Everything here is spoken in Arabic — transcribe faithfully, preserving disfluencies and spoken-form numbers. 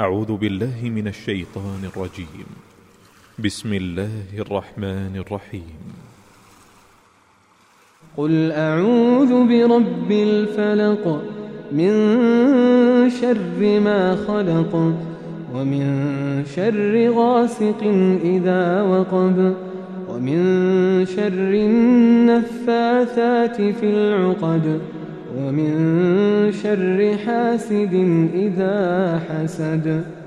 أعوذ بالله من الشيطان الرجيم. بسم الله الرحمن الرحيم. قل أعوذ برب الفلق من شر ما خلق ومن شر غاسق إذا وقب ومن شر النفاثات في العقد ومن شر حاسد إذا حسد.